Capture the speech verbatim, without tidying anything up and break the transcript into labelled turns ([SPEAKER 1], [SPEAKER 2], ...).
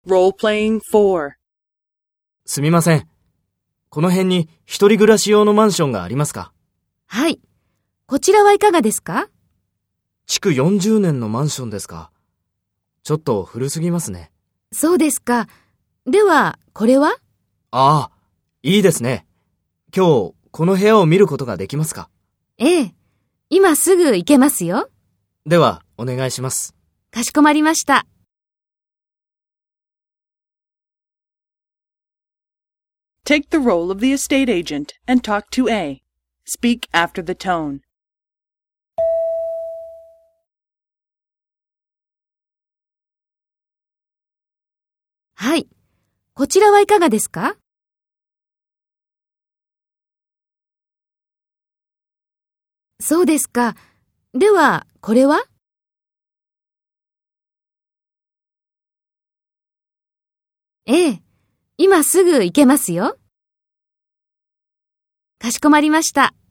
[SPEAKER 1] Role-playing four.
[SPEAKER 2] すみません。この辺に一人暮らし用のマンションがありますか？
[SPEAKER 3] はい。こちらはいかがですか？
[SPEAKER 2] 築よんじゅうねんのマンションですか。ちょっと古すぎますね。
[SPEAKER 3] そうですか。では、これは？
[SPEAKER 2] ああ、いいですね。今日、この部屋を見ることができますか？
[SPEAKER 3] ええ。今すぐ行けますよ。
[SPEAKER 2] では、お願いします。
[SPEAKER 3] かしこまりました。
[SPEAKER 1] Take the role of the estate agent and talk to A. Speak after the tone.
[SPEAKER 3] はい。こちらはいかがですか？そうですか。では、これは？ええ。今すぐ行けますよ。かしこまりました。